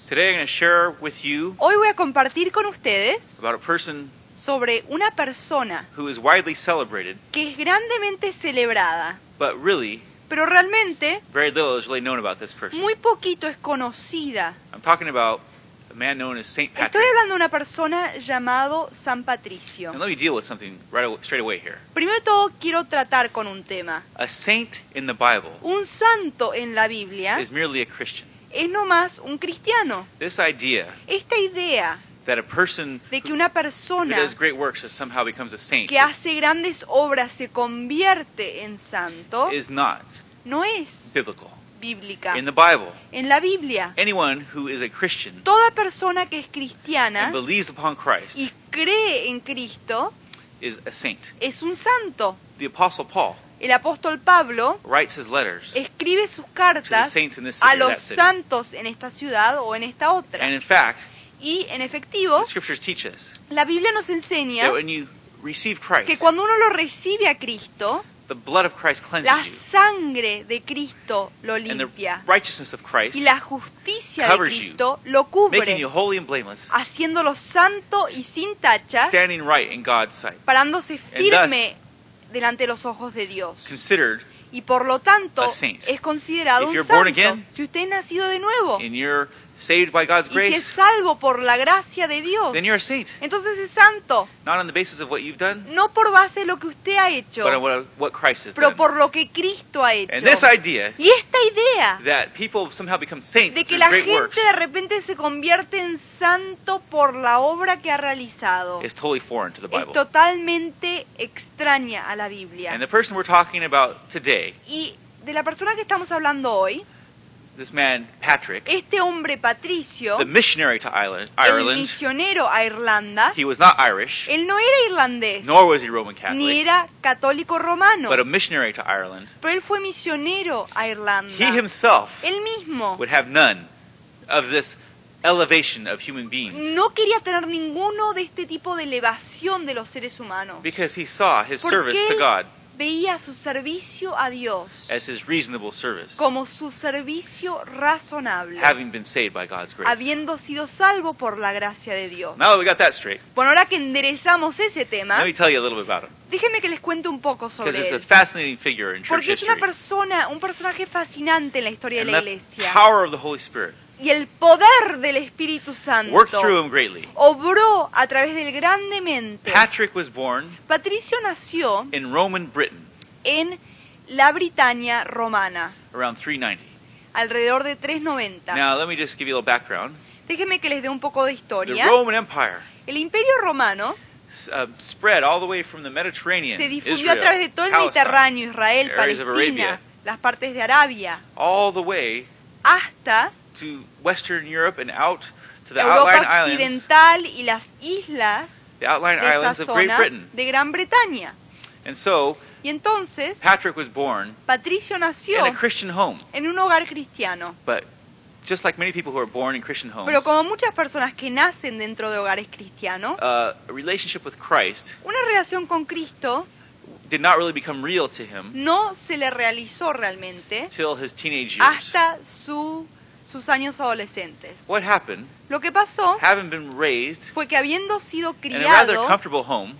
Today I'm going to share with you Hoy voy a compartir con ustedes about a person sobre una persona who is widely celebrated, que es grandemente celebrada, but really pero realmente very little is really known about this person. muy poquito es conocida. I'm talking about a man known as Saint Estoy Patrick. hablando de una persona llamado San Patricio. And let me deal with something straight away here. Primero de todo quiero tratar con un tema. A saint in the Bible Un santo en la Biblia is merely a Christian. es nomás un cristiano. This idea Esta idea that a person de que who una persona does great works somehow becomes a saint que hace grandes obras se convierte en santo is not no es biblical. bíblica. In the Bible, En la Biblia, anyone who is a Christian toda persona que es cristiana and believes upon Christ y cree en Cristo is a saint. es un santo. The Apostle Paul El apóstol Pablo writes his letters escribe sus to the cartas saints in this a city or los that city. santos en esta ciudad o en esta otra. And in fact, Y en efectivo, the scriptures teach us la Biblia nos enseña that when you receive que Christ, cuando uno lo recibe a Cristo, the blood of Christ la cleanses you, sangre de Cristo lo and the limpia righteousness of Christ, y la justicia de covers you, Cristo lo making cubre, you holy and blameless, haciéndolo santo y sin tacha, standing right in God's sight, parándose And firme delante de los ojos de Dios. considered Y por lo tanto a saint. es considerado If un you're born santo. again, Si usted es nacido de nuevo and you're saved by God's y si es grace, salvo por la gracia de Dios, then you're a saint. entonces es santo, Not on the basis of what you've done, no por base de lo que usted ha hecho, but on what Christ has pero done. por lo que Cristo ha hecho. And this idea Y esta idea that people somehow become saints de que through la great gente works de repente se convierte en santo por la obra que ha realizado is totally foreign to the es Bible. totalmente extraña a la Biblia. And the person we're talking about today, Y de la persona que estamos hablando hoy, this man Patrick, este hombre Patricio, the missionary to el Ireland, misionero a Irlanda, he was not Irish, él no era irlandés, nor was he Roman ni Catholic, era católico romano, but a missionary to Ireland. pero él fue misionero a Irlanda. He himself Él mismo would have none of this elevation of human beings, no quería tener ninguno de este tipo de elevación de los seres humanos, because he saw his Porque service to God veía su servicio a Dios as his reasonable service, como su servicio razonable, having been saved by God's grace. habiendo sido salvo por la gracia de Dios. Now that we got that straight, Bueno, ahora que enderezamos ese tema, let me tell you a little bit about him, déjenme que les cuente un poco because sobre it's a él. fascinating figure in church Porque es una history. persona, un personaje fascinante en la historia de And la the iglesia. power of the Holy Spirit Y el poder del Espíritu Santo worked through him greatly. obró a través de él grandemente. Patrick was born Patricio nació in Roman Britain en la Britania romana, around 390. alrededor de 390. Now, let me just give you a little background. Déjenme que les dé un poco de The historia. Roman Empire El Imperio Romano spread all the way from the Mediterranean, se difundió Israel, a través de todo el Palestine, Mediterráneo, Israel, areas of Palestina, Arabia. las partes de Arabia, all the way hasta to Western Europe and out to the Europa outlying islands, Occidental y las islas the outlying de esa islands of Great zona Britain. de Gran Bretaña. And so, Y entonces, Patrick was born Patricio in nació a Christian home, en un hogar cristiano. but just like many people who are born in Christian homes, Pero como muchas personas que nacen dentro de hogares cristianos, a relationship with Christ una relación con Cristo did not really become real to him no se le realizó realmente till his teenage years. hasta sus años adolescentes. What happened, Lo que pasó having been raised fue que habiendo sido in a rather criado comfortable home,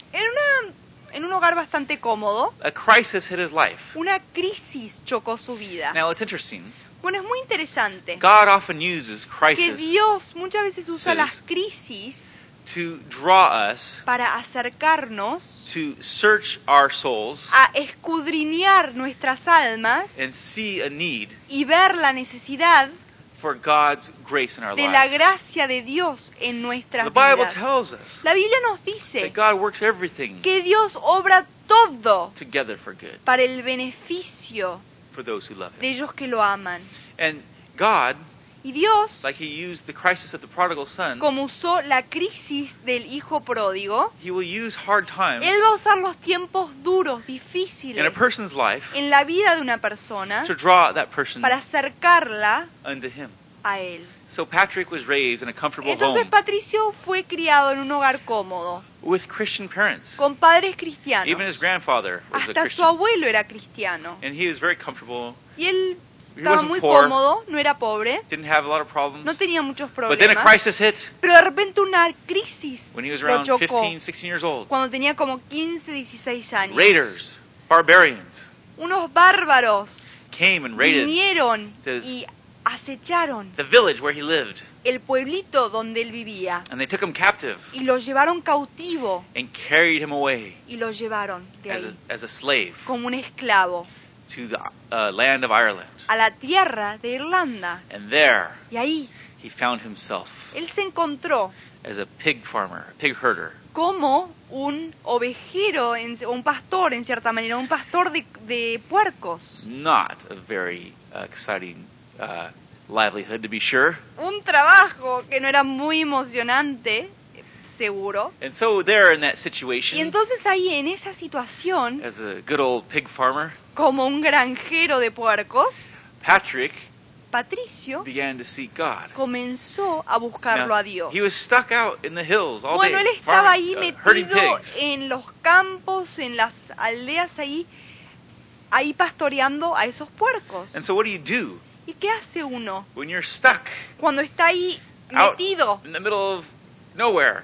en un hogar bastante cómodo, a crisis hit his life. una crisis chocó su vida. Now, it's interesting. Bueno, es muy interesante God often uses que crisis Dios muchas veces usa las crisis to draw us, para acercarnos to search our souls, a escudriñar nuestras almas and see a need y ver la necesidad for God's grace in our de la lives. gracia de Dios en nuestras The Bible vidas. tells us La Biblia nos that dice God works everything que Dios obra todo together for good para el beneficio for those who love de Him. ellos que lo aman. And God, Y Dios, like He used the crisis of the prodigal son, como usó la crisis del hijo pródigo, He will use hard times Él va a usar los tiempos duros, in a difíciles, person's life en la vida de una persona to draw that person para acercarla unto Him. a Él. So Patrick was raised in a comfortable Entonces home Patricio fue criado en un hogar cómodo, with Christian parents. con padres Even cristianos. his grandfather was a Hasta su Christian. abuelo era cristiano. And he was very comfortable Y él estaba wasn't muy poor. cómodo, no era pobre, Didn't have a lot of no problems. tenía muchos But then a problemas, crisis hit pero de repente una crisis when he was lo around chocó 15, 16 years old. cuando tenía como 15, 16 años. Raiders, barbarians, Unos bárbaros came and raided vinieron this- y acecharon the village where he lived. el pueblito donde él vivía And they took him captive y lo llevaron cautivo and carried him away y lo llevaron de ahí as a slave como un esclavo to the land of Ireland. a la tierra de Irlanda. And there Y ahí he found himself él se encontró as a pig farmer, a pig herder. como un ovejero, un pastor en cierta manera, un pastor de puercos. Not a very exciting livelihood, to be sure. Un trabajo que no era muy emocionante, seguro. And so there in that Y situation, entonces ahí en esa situación, as a good old pig farmer, como un granjero de puercos, Patrick Patricio began to seek God. comenzó a buscarlo Now, a Dios. he was stuck out in the hills all Bueno, day, él estaba ahí farming, herding metido pigs. en los campos, en las aldeas ahí pastoreando a esos puercos. And so what do you do ¿Y qué hace uno when you're stuck cuando está ahí out metido in the middle of nowhere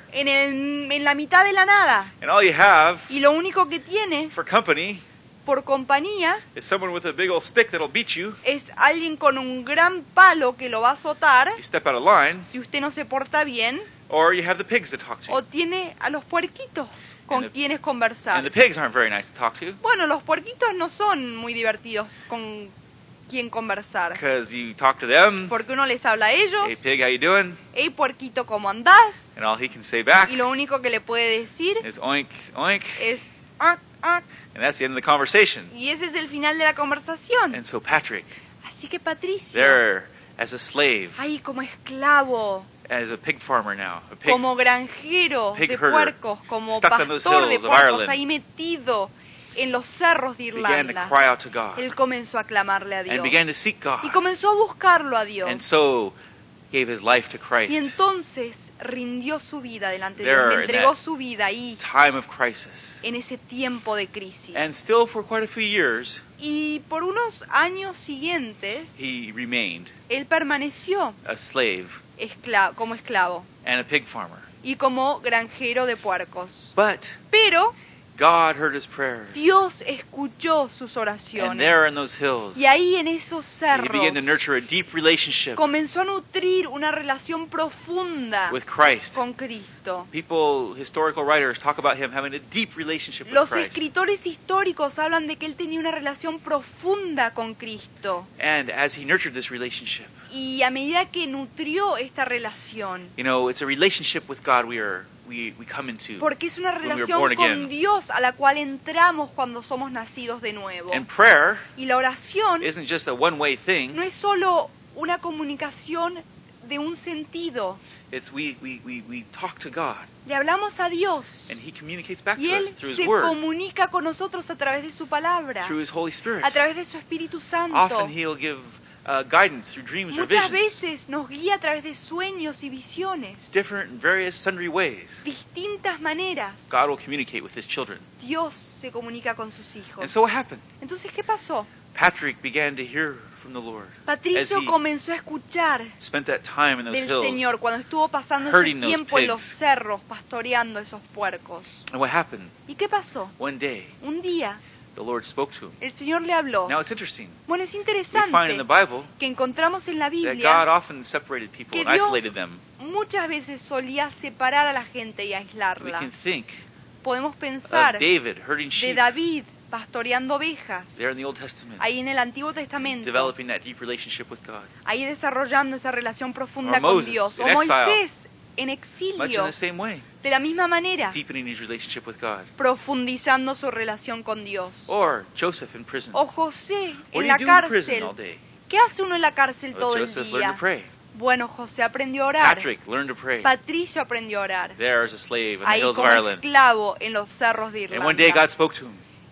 en la mitad de la nada? and all you have Y lo único que tiene for company por compañía is someone with a big old stick that'll beat you es alguien con un gran palo que lo va a azotar if you step out of line, si usted no se porta bien, or you have the pigs to talk to. o tiene a los puerquitos con And the- quienes And conversar. the pigs aren't very nice to talk to Bueno, los puerquitos no son muy divertidos con quien conversar, because you talk to them, porque uno les habla a ellos, hey pig, how you doing? hey puerquito, ¿cómo andás? And all he can say back Y lo único que le puede decir is oink, oink, es "Ah, ah", and that's the end of the conversation. y ese es el final de la conversación. And so Patrick, Así que Patricio, there as a slave, ahí como esclavo, as a pig farmer now, a pig, como granjero pig de herder, puercos, como stuck on those pastor de hills of puercos, Ireland, ahí metido en los cerros de began to Irlanda, cry out to God él comenzó a clamarle a and Dios began to seek God, y comenzó a buscarlo a Dios. and so gave his life to Y Christ. entonces rindió su vida delante de There Dios, in le entregó that su vida ahí, Time of crisis. en ese tiempo de crisis. And still for quite a few years, Y por unos años siguientes, he remained él permaneció a slave como esclavo and a pig farmer. y como granjero de puercos. But Pero God heard his prayers. Dios escuchó sus And oraciones. there in those hills, Y ahí en esos he cerros began to nurture a deep relationship comenzó a nutrir una relación profunda with Christ. con Cristo. People, historical writers, talk about him having a deep relationship with Los Christ. escritores históricos hablan de que él tenía una relación profunda con Cristo. And as he nurtured this relationship, Y a medida que nutrió esta relación, you know, it's a relationship with God we come into. porque es una we were relación born con again. Dios a la cual entramos cuando somos nacidos de nuevo. And prayer Y la oración isn't just a one-way thing. no es solo una comunicación de un sentido. It's we talk to God, Le hablamos a Dios and he communicates back y to Él us through his se word, comunica con nosotros a través de su palabra, through his Holy Spirit. a través de su Espíritu Santo. Often he'll give guidance through dreams or Muchas visions, veces nos guía a través de sueños y visiones. different and various sundry ways. Distintas maneras God will communicate with his children. Dios se comunica con sus And hijos. so what happened? Entonces, ¿qué pasó? Patrick began to hear from the Lord as Patricio he comenzó a escuchar spent that time in those del hills. Señor cuando estuvo pasando ese herding those tiempo en los pigs. cerros, pastoreando esos puercos. And what happened? ¿Y qué pasó? One day, Un día, the Lord spoke to him. el Señor le habló. Now it's interesting. Bueno, es We find in interesante the Bible que encontramos en la that God Biblia often separated people que and Dios isolated them. muchas veces solía separar a la gente y We aislarla. can think Podemos of pensar David herding de sheep David pastoreando ovejas, there in the Old Testament, ahí en el Antiguo Testamento, developing that deep relationship with God. ahí desarrollando esa relación profunda Or con Moses, Dios. O in exile. Moisés en Much in exilio, the same way, de la misma manera, deepening his relationship with God. profundizando su relación con Dios. Or Joseph in prison. O José What en do you la do in prison cárcel. all day? ¿Qué hace uno en la cárcel Well, todo el Joseph learned día? to pray. Bueno, José aprendió a orar. Patrick learned to pray. Patricio aprendió a orar. There as a slave in the Ahí hills of como Ireland. esclavo en los cerros de And one day God Irlanda. spoke to him.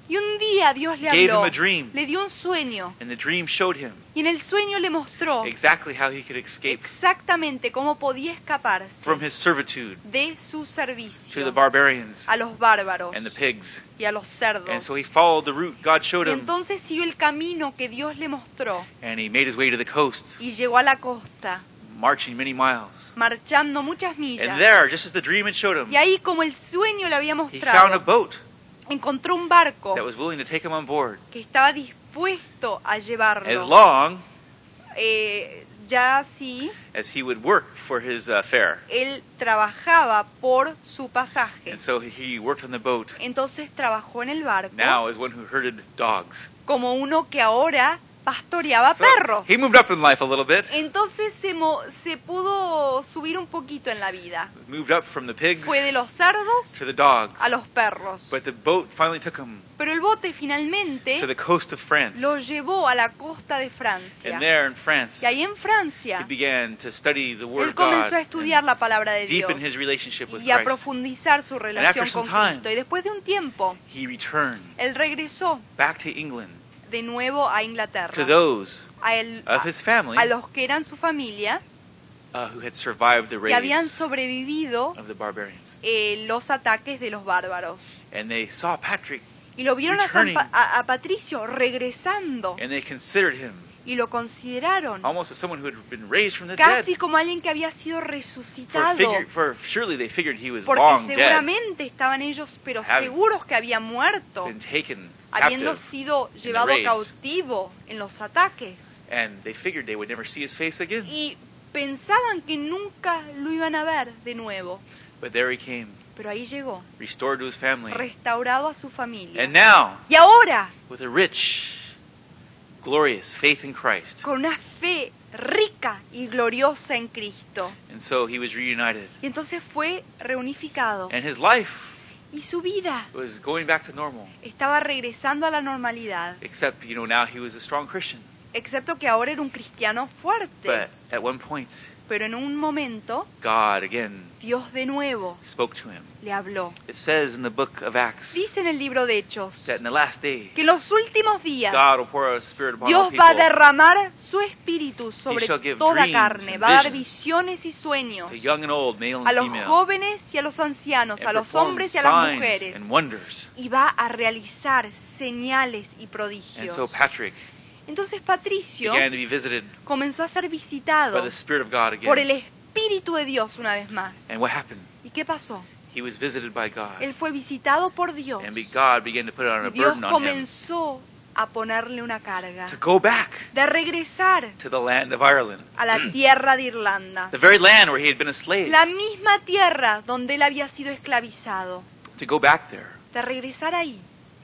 Y un día Dios le Gave habló, him a dream. le dio un sueño, And the dream showed him y en el sueño le mostró exactly how he could escape exactamente cómo podía escaparse from his servitude de su to the servicio barbarians a los bárbaros and the pigs. y a los cerdos. And so he followed the route God showed Y him, entonces siguió el camino que Dios le mostró and he made his way to the coast, y llegó a la costa, marching many miles. marchando muchas And millas. there, just as the dream had showed him, Y ahí, como el sueño le había he found a mostrado, boat encontró un barco that was willing to take him on board que estaba dispuesto a as llevarlo, long ya así as he would work for his fare. él trabajaba por su pasaje. And so he worked on the boat Entonces trabajó en el barco now as one who herded dogs. como uno que ahora pastoreaba So perros. he moved up in life a little bit, Entonces se pudo subir un poquito en la vida. moved up from the pigs Fue de los cerdos to the dogs. a los perros. But the boat finally took him Pero el bote to finalmente the coast of France. lo llevó a la costa de Francia. And there in France, Y ahí en he Francia, began to study the Word él of comenzó a God estudiar and la palabra de Dios deepen his relationship with y a Christ. profundizar su relación after con some time, Cristo. Y después de un tiempo, He returned él regresó back to England de nuevo a to Inglaterra, those a of his family a los que eran su familia, who had survived the que habían raids sobrevivido of the barbarians. los ataques de los bárbaros. And they saw Patrick, Y lo vieron Returning. a Patricio regresando and they considered him y lo consideraron almost as someone who had been raised from the dead. casi como alguien que había sido resucitado. For surely they figured he was Porque long dead, seguramente estaban ellos, pero Having seguros que había muerto, been taken habiendo captive, sido the llevado raids. cautivo en los ataques. and they figured they would never see his face again. Y pensaban que nunca lo iban a ver de nuevo. But there he came, Pero ahí llegó, restored to his family, restaurado a su familia. and now Y ahora, with a rich, glorious faith in Christ. con una fe rica y gloriosa en Cristo. And so he was reunited, Y entonces fue reunificado. and his life Y su vida was going back to normal. estaba regresando a la normalidad. Except, now he was a strong Christian. Excepto que ahora era un cristiano fuerte. But at one point, Pero en un momento, God again Dios de nuevo spoke to him. le habló. It says in the book of Acts Dice en el libro de Hechos that in the last day, que en los últimos días God will pour out His Spirit upon all Dios va a people, derramar su espíritu sobre shall give toda dreams carne. and Va a dar visions visiones y sueños to young and old, male a and los female, jóvenes y a los ancianos, and a los perform hombres y a las signs mujeres. and wonders. Y va a realizar señales y And prodigios. so Patrick Entonces Patricio began to be visited comenzó a ser by visitado the Spirit of God por el again. Espíritu de Dios una vez más. And what happened? ¿Y qué pasó? He was visited by God. Él fue visitado por Dios. And God began to put on a Dios burden on him comenzó a ponerle una carga to go back de regresar to the land of Ireland, a la tierra de Irlanda, the very land where he had been a slave, la misma tierra donde él había sido esclavizado, to go back there de regresar ahí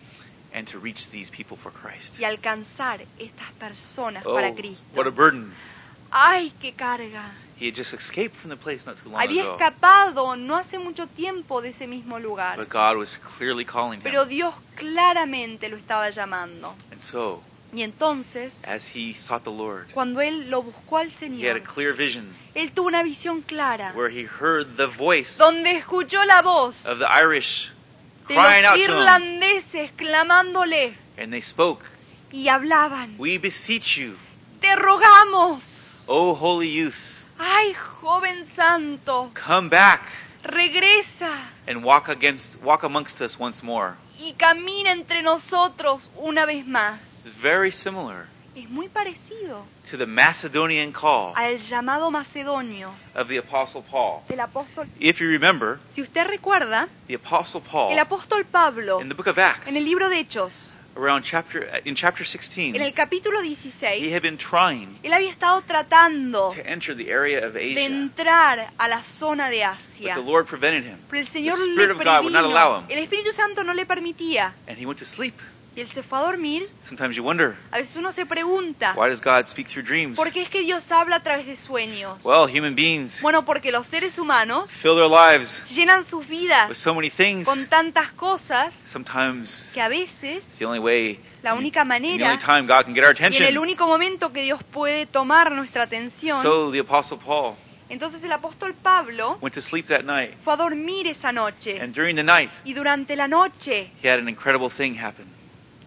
and to reach these people for Christ. y alcanzar estas personas Oh, para Cristo. what a burden. ¡Ay, qué carga! He had just escaped from the place not too long Había ago. escapado no hace mucho tiempo de ese mismo lugar, But God was clearly calling pero him. Dios claramente lo estaba llamando. And so, Y entonces, as he sought the Lord, cuando él lo buscó al he had a Señor, clear vision él tuvo una visión clara, where he heard the voice donde escuchó la voz of the Irish de crying los out to him. irlandeses clamándole And they spoke, y hablaban. "We beseech you, Te rogamos, O holy youth, ay joven santo, come back regresa and walk amongst us once more." y camina entre nosotros una vez más. It's very similar Es muy parecido to the Macedonian call al llamado macedonio of the Apostle Paul. del apóstol. If you remember, Si usted recuerda, the Apostle Paul el apóstol Pablo, in the book of Acts, en el libro de Hechos, in chapter 16, en el capítulo he 16, had been trying él había estado tratando to enter the area of de Asia, entrar a la zona de but Asia. the Lord prevented him. Pero el Señor The le Spirit of God would not allow previno. him. El Espíritu Santo no le permitía. And he went to sleep. Y él se fue a dormir. Sometimes you wonder, A veces uno se pregunta, why does God speak through dreams? ¿por qué es que Dios habla a través de sueños? Well, human beings Bueno, porque los seres humanos fill their lives llenan sus vidas with so many things. con tantas cosas Sometimes que a veces it's the only way, la única and the only manera time God can get our y en el attention. único momento que Dios puede tomar nuestra atención. So the Apostle Paul Entonces el apóstol Pablo went to sleep that night. fue a dormir esa noche. And during the night, Y durante la noche he had an incredible thing happen.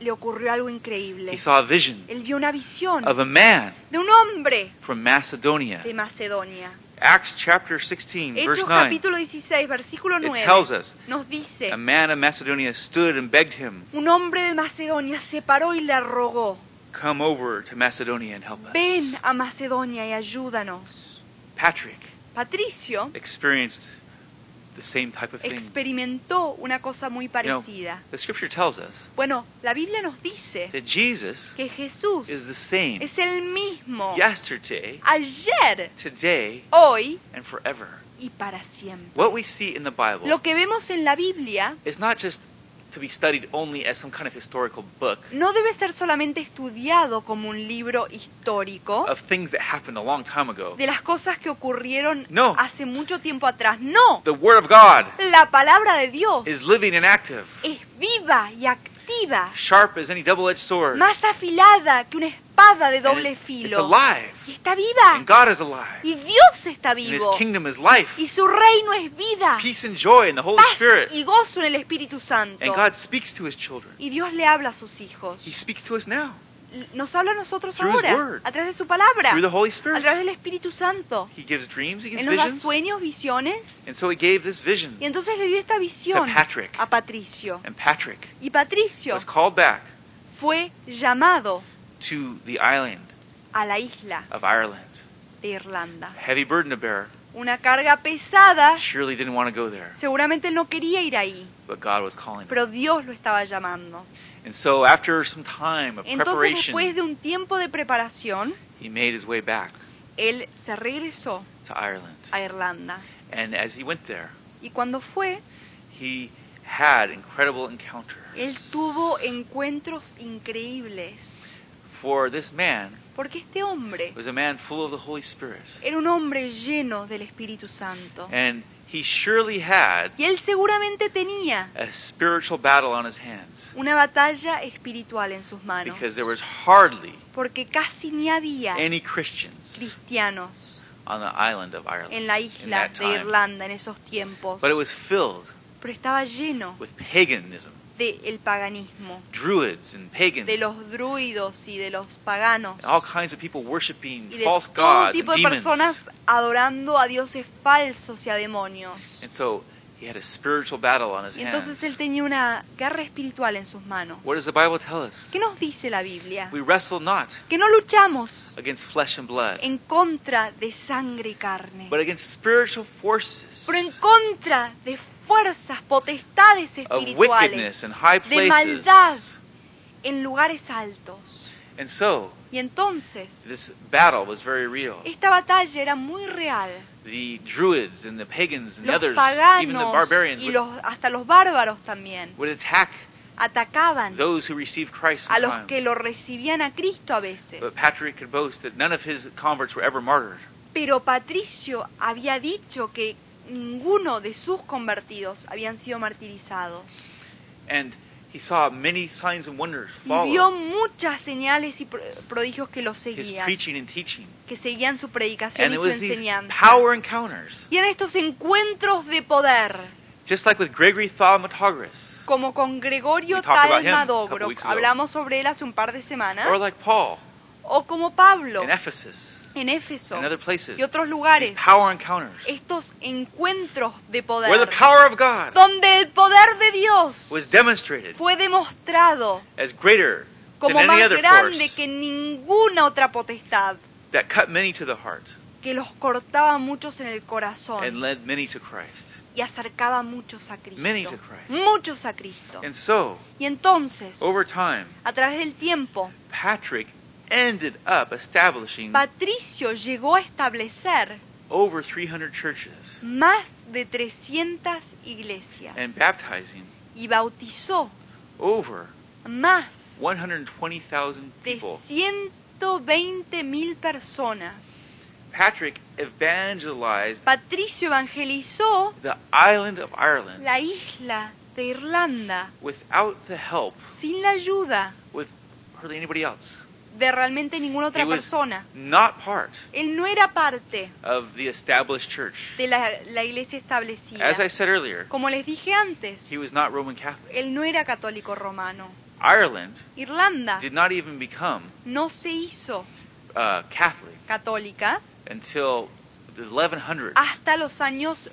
le ocurrió algo He increíble. saw a vision Él vio una visión of a man de un hombre from Macedonia. de Macedonia. Acts chapter 16, verse Hechos 9. capítulo 16, versículo It 9, tells us, nos dice, a man of Macedonia stood and begged him, un hombre de Macedonia se paró y le rogó, come over to Macedonia and help us. ven a Macedonia y ayúdanos. Patrick Patricio experienced the same type of thing. experimentó una cosa muy parecida. The scripture tells us Bueno, la Biblia nos dice that Jesus que Jesús is the same es el mismo yesterday, ayer, today, hoy and forever. y para siempre. What we see in the Bible Lo que vemos en la Biblia is not just to be studied only as some kind of historical book no debe ser solamente estudiado como un libro histórico of things that happened a long time ago. de las cosas que ocurrieron No. hace mucho tiempo atrás. No, The Word of God la palabra de Dios is living and active, es viva y activa, sharp as any double-edged sword. más afilada que una espada de And doble it's filo. alive, Y está viva. and God is alive, Y Dios está and His vivo. kingdom is life, Y su reino es vida, peace and joy in the Holy paz Spirit. y gozo en el Espíritu Santo. And God speaks to His children. Y Dios le habla a sus hijos. He speaks to us now Nos habla a nosotros Through His ahora, word. a través de su palabra, through the Holy a Spirit. través del Espíritu Santo. He gives dreams, He gives Él nos da visions. sueños, visiones. And so He gave this vision. Y entonces le dio esta visión To Patrick. a Patricio. And Patrick Y Patricio was called back fue llamado to the island a la isla of Ireland. de Irlanda. Heavy burden to bear. Una carga pesada, Surely didn't want to go there, seguramente él no quería ir ahí, but God was calling him. pero Dios lo estaba llamando. And so after some time of Entonces, preparation, después de un tiempo de preparación, he made his way back él se regresó to Ireland. a Irlanda. And as he went there, Y cuando fue, he had incredible encounters. él tuvo encuentros increíbles. For this man Porque este hombre was a man full of the Holy Spirit. era un hombre lleno del Espíritu Santo. And he surely had Y él seguramente tenía a spiritual battle on his hands. una batalla espiritual en sus manos. Because there was hardly Porque casi ni había any Christians cristianos on the island of Ireland en la in isla that de time. Irlanda en esos tiempos. But it was filled Pero estaba lleno with paganism, del paganismo, druids and pagans, de los druidos y de los paganos, and all kinds of people worshiping y de false todo gods and tipo de demons. personas adorando a dioses falsos y a demonios. And so he had a spiritual battle on his Y entonces él hands. tenía una guerra espiritual en sus manos. What does the Bible tell us? ¿Qué nos dice la Biblia? We wrestle not Que no luchamos against flesh and blood, en contra de sangre y carne, but against spiritual forces pero en contra de fuerzas, potestades of espirituales, wickedness in high de maldad places. en lugares altos. And so Y entonces, this battle was very real. esta batalla era muy real. The druids and the pagans and the Los others, even the paganos barbarians, y hasta los bárbaros también would attack atacaban those who received Christ a los sometimes. que lo recibían a Cristo a veces. But Patrick could boast that none of his converts were ever martyred. Pero Patricio había dicho que ninguno de sus convertidos habían sido martirizados. And he saw many signs and wonders Y vio follow muchas señales y prodigios que lo his seguían, preaching and teaching. que seguían su predicación And y it su was these enseñanza. power encounters, Y en estos encuentros de poder, just like with Gregory Thaumaturgus, como con Gregorio We talked about him a couple Talmadogro, weeks ago. hablamos sobre él hace un par de semanas, or like Paul o como Pablo in Ephesus en Éfeso and other places. y otros lugares, These power encounters, estos encuentros de where poder, the power of God donde el poder de Dios was demonstrated fue demostrado as greater than como any más other grande force que ninguna otra potestad, that cut many to the heart que los cortaba a muchos en el and corazón led many to Christ. y acercaba a muchos a Many to Cristo. Christ. Muchos a Cristo. And so, Y entonces, over time, a través del tiempo, Patrick ended up establishing Patricio llegó a establecer over 300 churches más de 300 iglesias and baptizing y bautizó over más 120,000 de people. 120.000 personas. Patrick evangelized Patricio evangelizó the island of Ireland la isla de Irlanda without the help sin la ayuda with hardly anybody else. de realmente ninguna otra He was persona. not part Él no era parte of the established church. de la iglesia establecida. As I said earlier, Como les dije antes, he was not Roman Catholic. él no era católico romano. Ireland Irlanda did not even become no se hizo Catholic católica until the 1100s hasta los años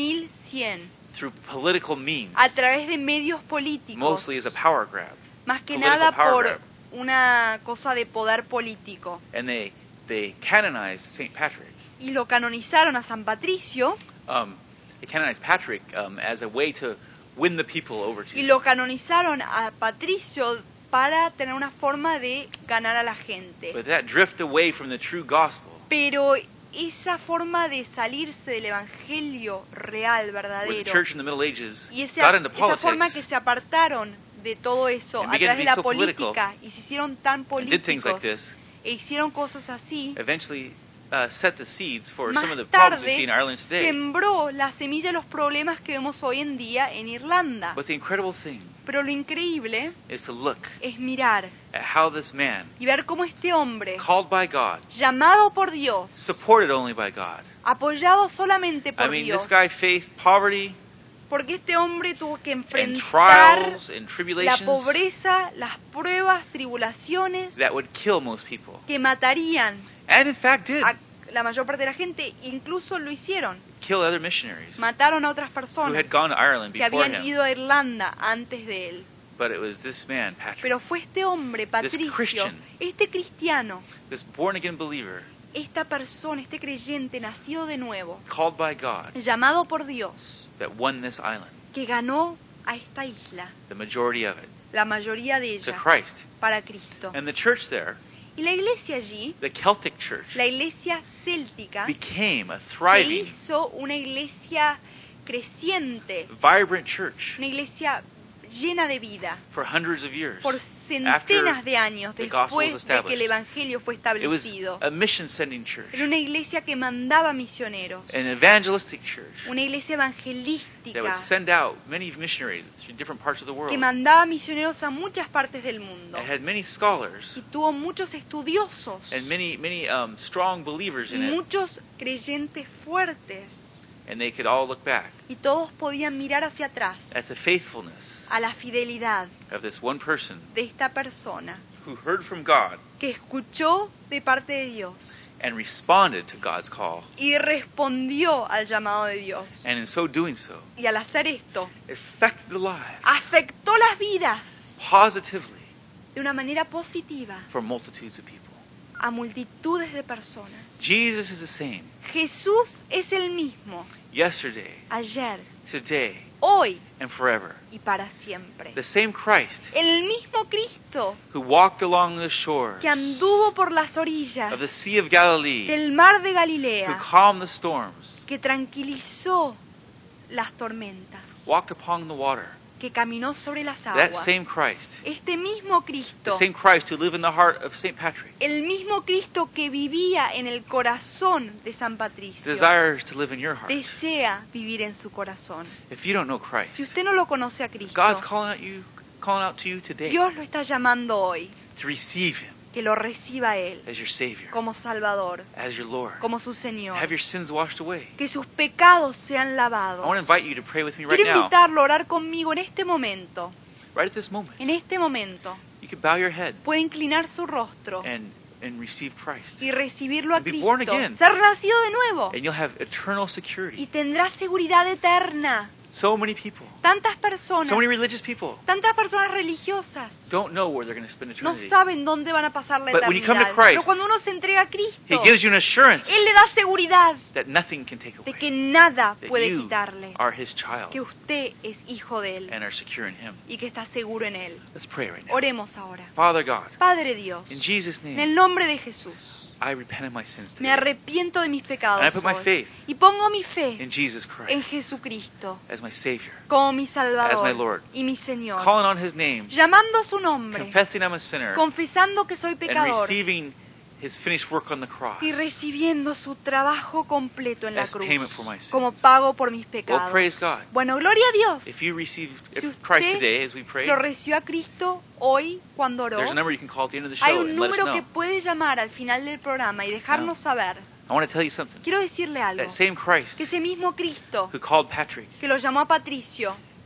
1100, through political means, a través de medios políticos, mostly as a power grab. más que political nada power por grab. una cosa de poder político. And they canonized St. Patrick. Y lo canonizaron a San Patricio They canonized Patrick as a way to win the people over to y lo canonizaron a Patricio para tener una forma de ganar a la gente. But that drift away from the true gospel, Pero esa forma de salirse del evangelio real, where the verdadero, church in the Middle Ages y got into esa forma que politics se apartaron de todo eso and a began través to de be la so política y se hicieron tan and did things like políticos this, e hicieron cosas así, eventually set the seeds for más some of the problems we tarde see in Ireland today. sembró la semilla de los problemas que vemos hoy en día en Irlanda. But the incredible thing Pero lo increíble is to look es mirar at how this man, y ver cómo este hombre, called by God, llamado por Dios, supported only by God. apoyado solamente por I mean, Dios, this guy faced poverty porque este hombre tuvo que and enfrentar trials and la tribulations pobreza, las pruebas, tribulaciones that would kill most people. que matarían And in fact did a la mayor parte de la gente, incluso lo hicieron. kill other missionaries Mataron a otras who personas had gone to Ireland que before habían him. ido a Irlanda antes de él. But it was this man, Patrick, Pero fue este hombre, Patricio, Christian. este cristiano, this born-again believer, esta persona, este creyente nacido de nuevo, called by God, llamado por Dios, that won this island, que ganó a esta isla, the majority of it, la mayoría de to ella, Christ. para Cristo. And the church there, Y la iglesia allí, the Celtic church, la iglesia céltica, became a se thriving, hizo una iglesia creciente, vibrant church una iglesia llena de vida, for hundreds of years. por centenas de años the gospel was después de que el established. evangelio fue It was establecido. a mission-sending church, Era una iglesia que mandaba misioneros, an evangelistic church una iglesia that would evangelística send out many missionaries to different parts of the que world. mandaba misioneros a muchas partes del mundo It had many scholars y tuvo muchos estudiosos and many strong believers y in it, muchos creyentes fuertes, and they could all look back y todos podían mirar hacia atrás at the faithfulness a la fidelidad of this one person de esta persona who heard from God que escuchó de parte de Dios and responded to God's call, y respondió al llamado de Dios. and in so doing so, Y al hacer esto, affected the lives afectó las vidas positively de una manera positiva for multitudes of people. a multitudes de personas. Jesus is the same Jesús es el mismo yesterday, ayer, today, hoy and forever. y para siempre. The same Christ El mismo Cristo who walked along the shores que anduvo por las of orillas the Sea of Galilee, del mar de who Galilea, calmed the storms, que tranquilizó las tormentas, walked upon the water. que caminó sobre las That aguas. same Christ, Este mismo the Cristo, same Christ who lived in the heart of St. Patrick, el mismo Cristo que vivía en el corazón de San Patricio, desires to live in your heart. desea vivir en su corazón. If you don't know Christ, Si usted no lo conoce a Cristo, God's calling out to you today Dios lo está llamando hoy, to receive Him que lo reciba a Él as your Savior, como Salvador, as your Lord. como su Señor, Have your sins washed away. que sus pecados sean I want to lavados. invite you to pray with me right Quiero now. invitarlo a orar conmigo en este momento. Right at this moment, En este momento you can bow your head puede inclinar su rostro and receive Christ, y recibirlo a And be born Cristo, again. ser nacido de nuevo, and you'll have eternal y security. tendrá seguridad eterna. So many people, Tantas personas, so many religious people, tantas personas religiosas don't know where they're going to spend no eternity. saben dónde van a pasar la But when you come to eternidad. Christ, Pero cuando uno se entrega a He Cristo, gives you an assurance Él le da seguridad that nothing can take de away. que nada That puede you quitarle, are His child que usted es hijo de Él and are secure in Him. y que está seguro en Él. Let's pray right now. Oremos ahora. Father God, Padre Dios, in Jesus' en name, el nombre de Jesús, I repent of my sins me today. arrepiento de mis pecados And I put my hoy, faith y pongo mi fe in Jesus en Christ Jesucristo as my Savior, como mi As my Salvador Lord. y mi Señor, calling on His name, llamando su nombre, confessing I'm a sinner, confesando que soy and pecador receiving His finished work on the cross y recibiendo su trabajo completo en la as cruz payment for my sins. como pago por mis Well, pecados. praise God. Bueno, gloria a Dios. If you receive Si Christ usted today as we pray, lo recibió a Cristo hoy cuando oró, there's a number you can call at the end of the hay show un and let us número que know. puede llamar al final del programa y dejarnos saber. I want to tell you something. Quiero decirle algo, That same Christ que ese mismo Cristo who called Patrick que lo llamó a Patricio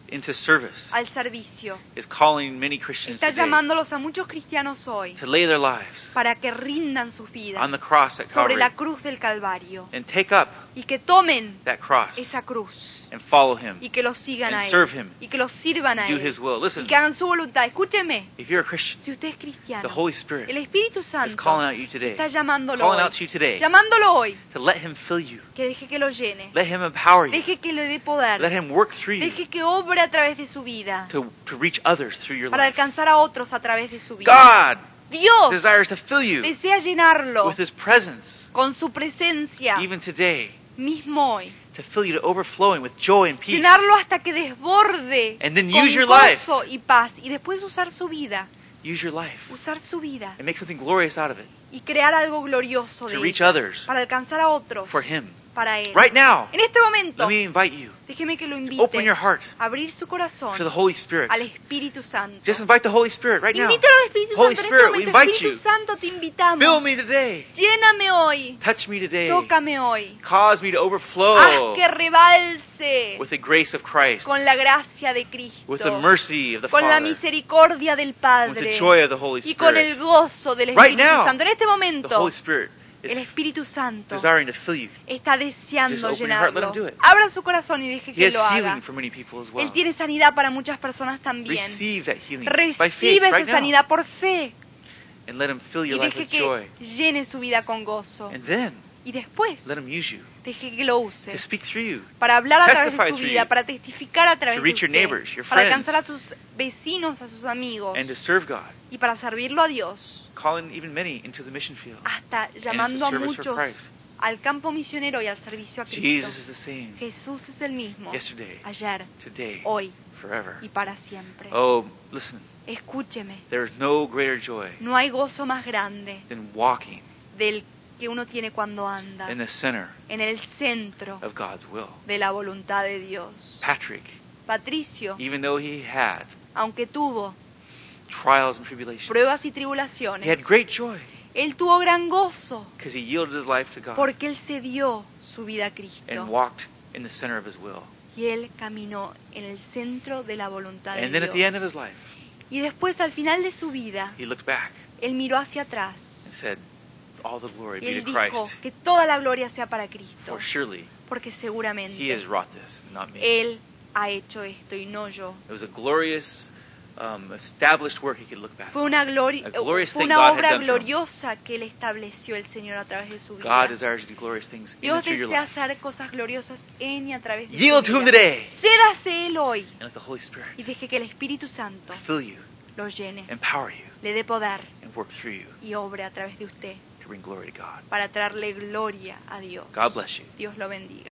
into service, al servicio. is calling many Christians Está today llamándolos a muchos cristianos hoy to lay their lives para que rindan sus vidas on the cross at sobre Calvary la cruz del Calvario and take up y que tomen that cross esa cruz and follow Him y que los sigan and a serve Él Him, y que los sirvan a do Él His will. y Listen, que hagan su voluntad. Escúcheme, if you're a Christian, si usted es the cristiano, Holy Spirit el Espíritu is Santo calling out you today, está llamándolo calling hoy, out to you today llamándolo hoy, to let Him fill you, que deje que lo llene, let Him empower you, deje que le dé let poder, Him work through you deje que obre a través de su vida to reach others through your para life. alcanzar a otros a través de su vida. God Dios desires to fill you desea llenarlo with His presence, con su presencia even today, mismo hoy. to fill you to overflowing with joy and peace. Llenarlo hasta que desborde And then con use your life. gozo y paz. Y después usar su vida, Use your life usar su vida and make something glorious out of it y crear algo glorioso de to reach ella others para alcanzar a otros for Him. para Él. Right now, En este momento, let me invite you déjeme que lo to invite open your heart a abrir su corazón to the Holy Spirit. al Espíritu Santo. Just invite the Holy Spirit right now. Invítalo al Espíritu Holy Santo Spirit, en we este momento. invite Espíritu you. Santo, te invitamos. Fill me today. Lléname hoy. Touch me today. Tócame hoy. Cause me to Haz overflow que rebalse with the grace of Christ, con la gracia de Cristo, with the mercy of the con la Father, misericordia del with the Padre joy of the Holy y con el Spirit. gozo del Right Espíritu now, Santo. En este The momento, Holy Spirit el is Espíritu Santo desiring to fill you. está Just deseando open your heart, let llenarlo. him do it. Abra su corazón y deje He que has lo haga. healing for many people as well. Él tiene sanidad para muchas personas también. Receive that healing by faith Recibe esa right now, sanidad por fe and let Him fill y your life deje with joy. que llene su vida con gozo. And then Y después, let Him use you deje que lo use to speak through you, para hablar a través de testify su through vida, you, para testificar a través to de reach your usted, neighbors, your para friends, alcanzar a sus vecinos, a sus amigos and to serve God, y para servirlo a Dios, calling even many into the mission field hasta and into llamando a service for muchos Christ. al campo misionero y al servicio a Cristo. Jesus is the same Jesús es el mismo yesterday, ayer, today, hoy forever. y para siempre. Oh, listen, Escúcheme, there is no greater joy no hay gozo más grande than walking del que uno tiene cuando anda in the center en el centro of God's will. de la voluntad de Dios. Patrick, Patricio, even though he had aunque tuvo trials and tribulations, pruebas y he had tribulaciones, great joy él tuvo gran gozo because he yielded his life to God porque él se dio su vida a and Cristo walked in the center of His will. y él caminó en el centro de la voluntad de And then at the end of Dios. his life, Y después, al final de su vida, he looked back él miró hacia atrás and said, "All the glory y be él to dijo Christ, que toda la gloria sea para Cristo, for surely porque He seguramente has wrought this, not me." él ha hecho esto y no yo. It was a glorious, established work he could look back Fue on. una, A glorious fue thing una God had obra done for him. gloriosa que él estableció el Señor a través de su God vida. desires to do glorious things in Dios and through your desea life. hacer cosas gloriosas en y a través de Yield su to Him vida. today Cédase él hoy and let the Holy y Spirit deje que el Espíritu Santo fill you, lo llene, empower you, le dé poder and work through you y obre a través de usted to bring glory to God. para traerle gloria a Dios. God bless you. Dios lo bendiga.